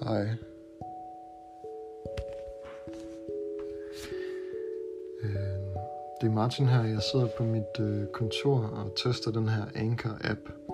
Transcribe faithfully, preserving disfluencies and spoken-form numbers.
Hej. Det er Martin her. Jeg sidder på mit kontor og tester den her Anchor-app.